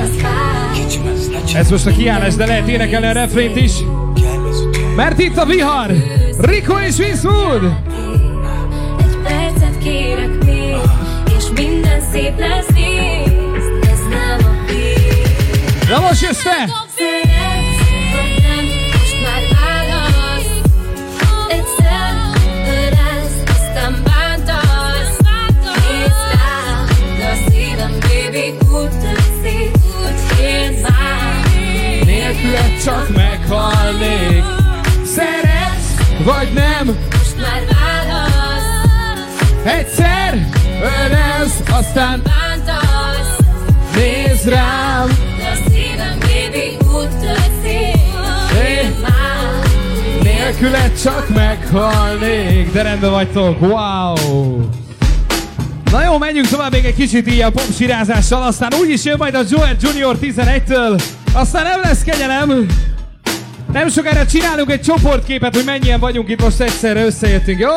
Speaker 5: Ez most a kiállás, de lehet énekelni a refrént is. Mert itt a vihar! Rico és Vincewood!
Speaker 2: Egy percet kérek még, és minden szép lesz, nézd, ez nem a vég.
Speaker 5: Na most jössz te!
Speaker 2: Szeretsz, vagy nem, most már válasz. Egyszer ölelsz, aztán bántasz. Nézd rám, de a szívem, baby, úgy tetszik, hogy éld már.
Speaker 5: Nélküled csak meghalnék. Szeretsz, vagy nem?
Speaker 2: Most már válasz.
Speaker 5: Egyszer ölelsz, aztán
Speaker 2: bántasz.
Speaker 5: nézd rám.
Speaker 2: De a szívem, baby, úgy tetszik, hogy éld már.
Speaker 5: Nélküled csak meghalnék. De rendben vagytok, wow! Na jó, menjünk tovább még egy kicsit így a popsirázással, aztán úgyis jön majd a Joel junior tizenegytől, aztán nem lesz kegyelem. Nem sokára csinálunk egy csoportképet, hogy mennyien vagyunk itt most egyszerre összejöttünk, jó?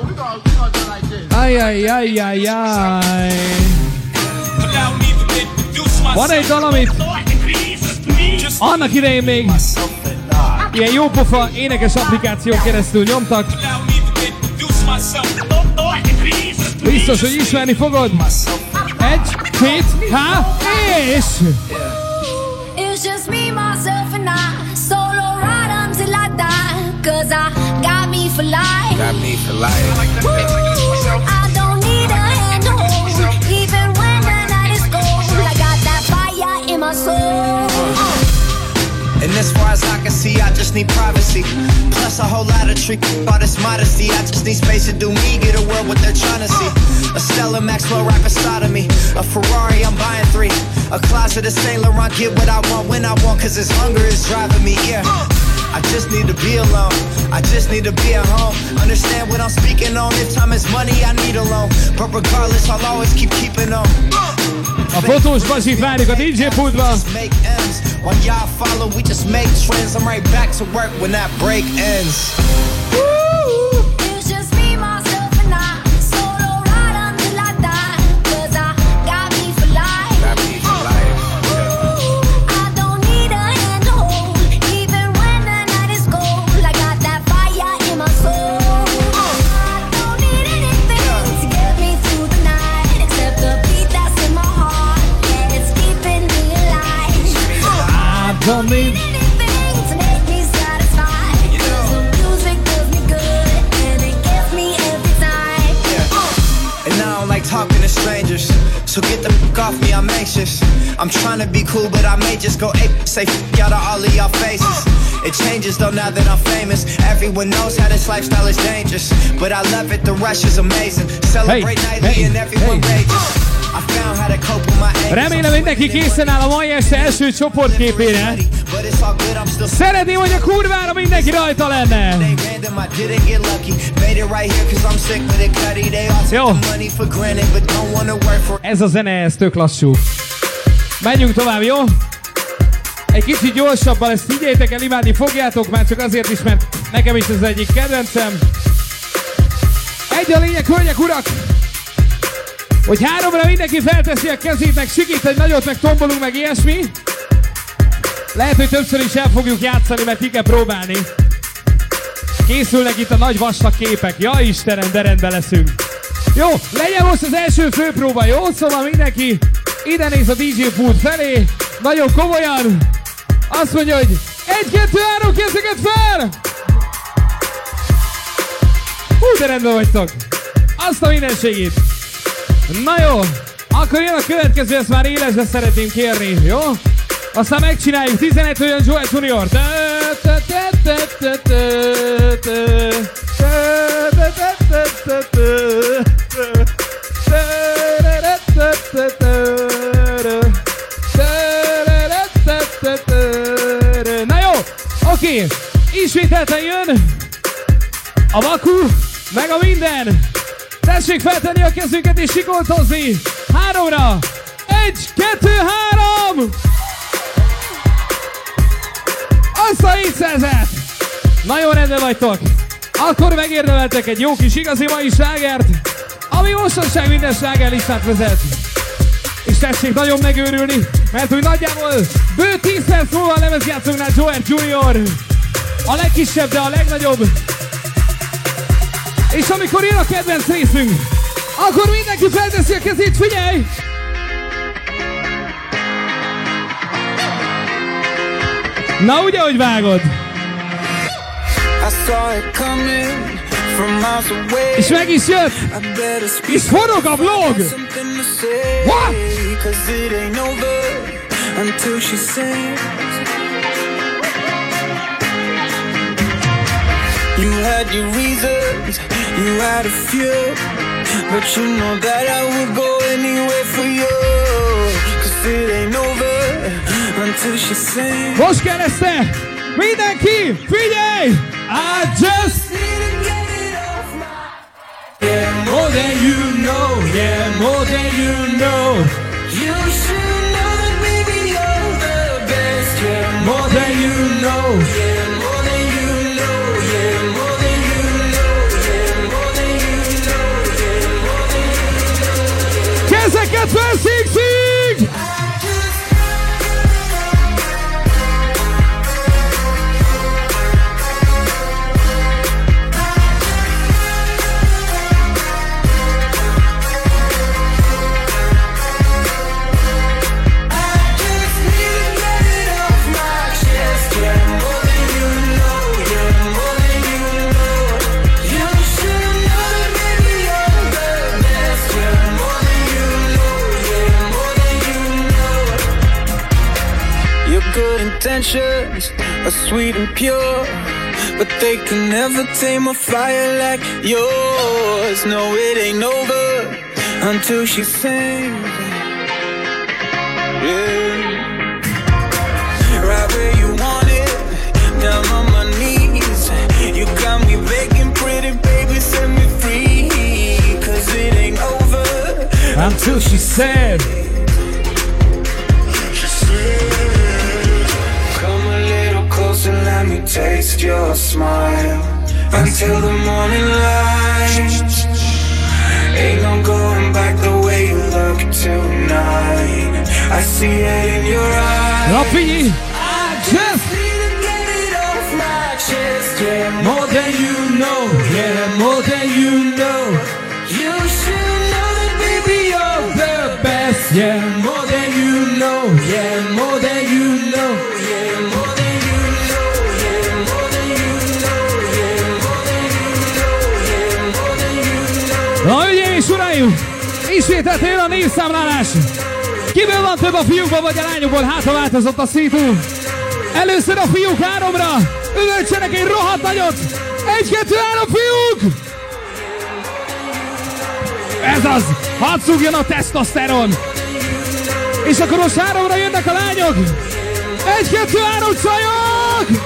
Speaker 5: Ajjajjajjajjaj. Van egy dal, amit annak idején még ilyen jópofa énekes applikáción keresztül nyomtak. Biztos, hogy ismerni fogod. Egy, két, há, és...
Speaker 2: It's just me, myself and I, solo ride until I die, cause I got me for life.
Speaker 1: Got me for life.
Speaker 2: Woo, I don't need a hand to hold, even when the night is cold. I got that fire in my soul.
Speaker 15: And as far as I can see, I just need privacy. Plus a whole lot of trick, all this modesty. I just need space to do me, get a world what they're trying to see. A Stella Maxwell right beside of me. A Ferrari, I'm buying three. A closet of Saint Laurent, get what I want when I want, cause this hunger is driving me, yeah. I just need to be alone, I just need to be at home. Understand what I'm speaking on, if time is money, I need a loan. But regardless, I'll always keep keeping on.
Speaker 5: A fotós Bazsit várjuk a dé dzsé pultba.
Speaker 15: While y'all follow, we just make trends. I'm right back to work when that break ends.
Speaker 2: It's just me, myself and I, solo ride until I die, cause I got me for life.
Speaker 1: Got me for life.
Speaker 2: I don't need a hand to hold, even when the night is cold. I got that fire in my soul. I don't need anything to get me through the night, except the beat that's in my heart. It's keeping me alive.
Speaker 5: I don't need
Speaker 2: anything to make me satisfied, cause the music does me good and it gets me every time.
Speaker 15: And I don't like talking to strangers, so get the fuck off me, I'm anxious. I'm trying to be cool, but I may just go ape, say fuck out of all of y'all faces. It changes though now that I'm famous. Everyone knows how this lifestyle is dangerous, but I love it, the rush is amazing. Celebrate
Speaker 5: Hey,
Speaker 15: nightly
Speaker 5: hey,
Speaker 15: and everyone
Speaker 5: hey.
Speaker 15: rages. I found how to cope with my angst.
Speaker 5: Remélem, mindenki készen áll a mai este első csoportképére.
Speaker 15: But it's all good, I'm still
Speaker 5: Szeretném, hogy a kurvára mindenki rajta lenne.
Speaker 15: They random, I didn't get lucky. Made it right here cause I'm sick with it, cutty. They all take the money for granted, but don't wanna work for.
Speaker 5: Ez a zene, ez tök lassú. Menjünk tovább, jó? Egy kicsit gyorsabban, ezt higgyétek el, imádni fogjátok, már csak azért is, mert nekem is ez egyik kedvencem. Egy a lényeg, hölgyek, urak, hogy háromra mindenki felteszi a kezét, meg sikít egy nagyot, meg tombolunk, meg ilyesmi. Lehet, hogy többször is el fogjuk játszani, mert ki kell próbálni. Készülnek itt a nagy vastag képek. Ja Istenem, de rendben leszünk. Jó, legyen most az első főpróba, jó? Szóval mindenki ide néz a dé dzsé pult felé. Nagyon komolyan. Azt mondja, hogy egy, kettő, három, kezeket fel! Hú, de rendben vagytok. Azt a mindenségét. Na jó, akkor jön a következő, ezt már élesre szeretném kérni, jó? Aztán megcsináljuk tizenegy olyan Joel Junior. Na jó, oké, ismételten jön a vaku, meg a minden. Tessék feltenni a kezünket és sikoltozni. Háromra. Egy, kettő, három. Azt a hétszázat. Nagyon rendben vagytok. Akkor megérdemeltek egy jó kis igazi mai slágert, ami mostanság minden slágerlistát vezet. És tessék nagyon megőrülni, mert úgy nagyjából bő tíz perc múlva a lemezjátszóknál Joel Junior. A legkisebb, de a legnagyobb. És amikor jön a kedvenc részünk, akkor mindenki felteszi a kezét, figyelj! Na ugye, hogy vágod? És meg is jött! És forog a vlog! What?
Speaker 12: You had your reasons, you had a few, but you know that I would go anywhere for you, cause it ain't over until she sings.
Speaker 5: Most kell ezt! Mindenki, figyelj! I just need to get it off my...
Speaker 12: Yeah, more than you know, yeah, more than you know. You should know that baby you're the best, yeah, more than you know, yeah, more than you know, yeah, more than you know, yeah, more than you know, yeah, more than you know.
Speaker 5: Kezeket fel, szíg-szíg!
Speaker 12: Intentions are sweet and pure, but they can never tame a fire like yours. No, it ain't over until she sings. Yeah. Right where you want it, down on my knees. You got me begging, pretty baby, set me free. Cause it ain't over
Speaker 5: until she said.
Speaker 12: And let me taste your smile until the morning light. Ain't no going back the way you look tonight. I see it in your eyes.
Speaker 5: Rafi,
Speaker 12: I just need to get it off my chest. Yeah, more than you know. Yeah, more than you know. You should know that baby you're the best. Yeah, more than you know. Yeah, more than you know. Yeah, more.
Speaker 5: Na, hölgyeim és uraim! Ismételten jön a névszámlálás! Kiből van több a fiúkban vagy a lányokból? Hát, ha változott a szitu! Először a fiúk háromra! Üvöltsenek egy rohadt nagyot! Egy, kettő, három, fiúk! Ez az! Hadd szúgjon a tesztoszteron! És akkor most háromra jönnek a lányok! Egy, kettő, három, csajok!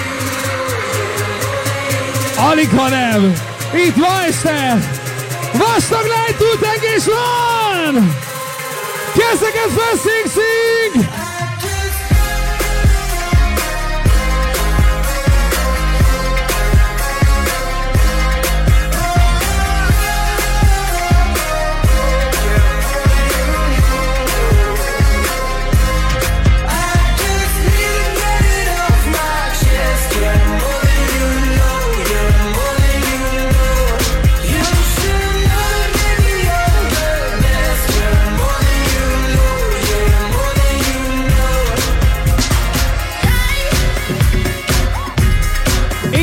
Speaker 5: Alig ha nem! Itt ma este! Vastag lány túltengés van! Kezeket fel, szing-szing!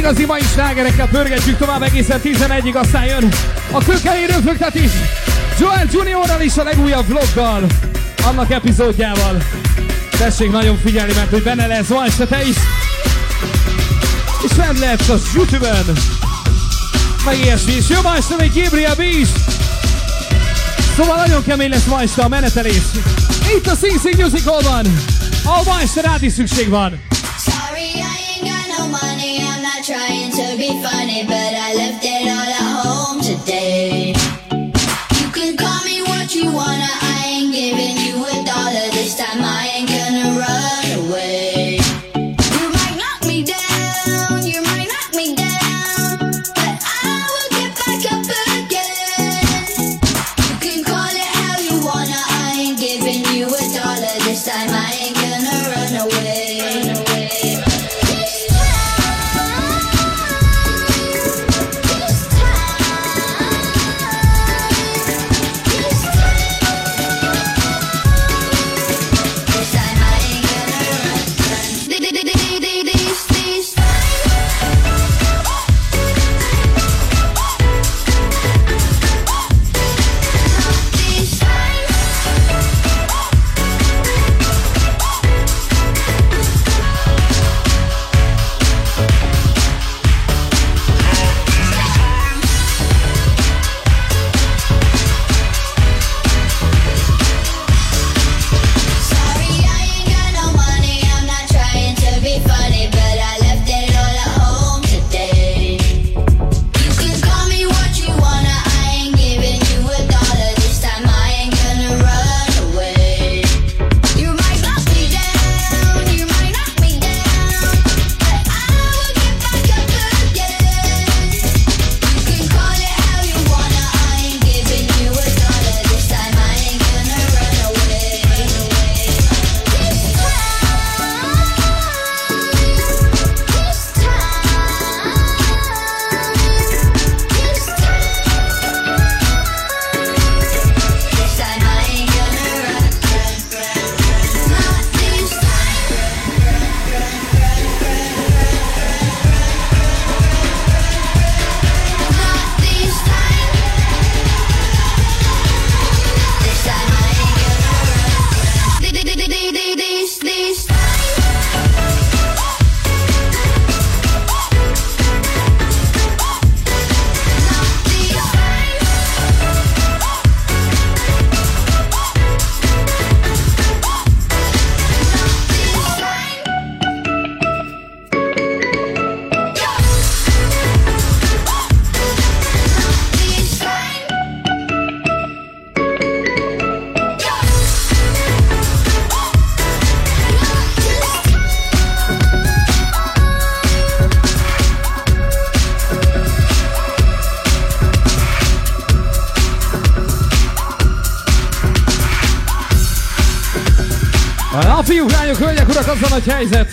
Speaker 5: igazi mai slágerekkel pörgetjük tovább egészen tizenegyig, aztán jön a kőkemény röfögtetés Joel Juniorral is a legújabb vloggal, annak epizódjával. Tessék nagyon figyelni, mert hogy benne lesz ma este te is, és fent lehetsz a YouTube-ön, meg ilyesmi, és jó ma este még Gabriel B is. Szóval nagyon kemény lesz ma este a menetelés. Itt a Sing Sing Musicalban, ahol ma este rád is szükség van.
Speaker 2: Sorry, I ain't got no money, I'm not trying to be funny, but I left it all at home today. You can call me what you wanna, I ain't giving you a dollar this time, I ain't gonna run away. You might knock me down, you might knock me down, but I will get back up again. You can call it how you wanna, I ain't giving you a dollar this time, I ain't gonna run away.
Speaker 5: Na fiúk, lányok, hölgyek, urak, az a nagy helyzet,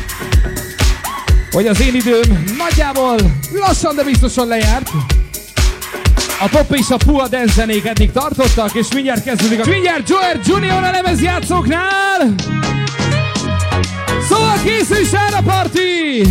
Speaker 5: hogy az én időm nagyjából lassan, de biztosan lejárt. A pop és a puha dance zenék eddig tartottak, és mindjárt kezdődik a... Mindjárt Joel Junior a lemezjátszóknál! Szóval készülj erre a parti!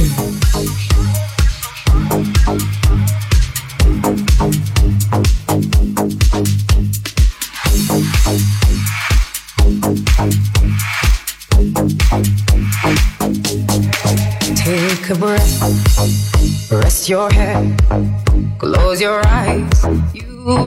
Speaker 16: Take a breath, rest your head, close your eyes. You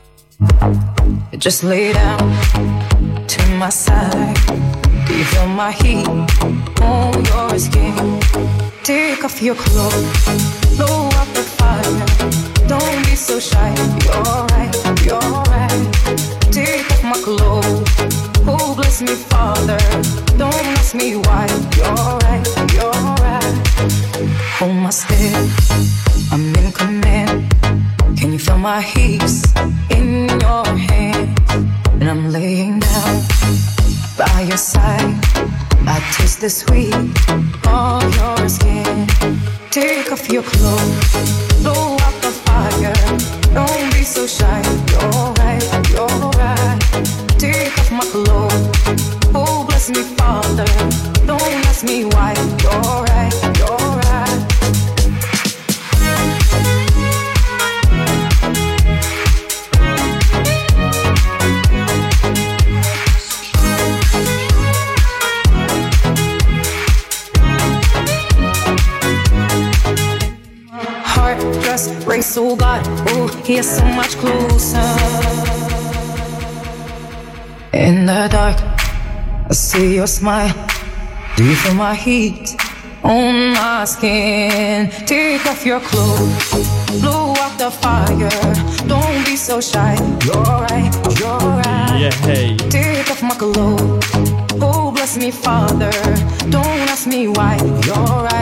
Speaker 16: just lay down to my side. Do you feel my heat on your skin? Take off your clothes, blow up the fire. Don't be so shy. You're right, you're right. Take off my clothes. Oh, bless me, Father. Don't ask me why. You're right, you're right. Hold my step, I'm in command. Can you feel my hips in your hands? And I'm laying down by your side. I taste the sweet of your skin. Take off your clothes, blow up the fire. Don't be so shy. You're right, you're right. Take off my clothes. Oh, bless me, Father. Don't ask me why. You're right, you're right. us race, oh God, oh, he's so much closer. In the dark, I see your smile. Do you feel my heat on my skin? Take off your clothes, blow out the fire. Don't be so shy. You're right, you're right.
Speaker 17: Yeah, hey.
Speaker 16: Take off my clothes. Oh, bless me, Father. Don't ask me why. You're right.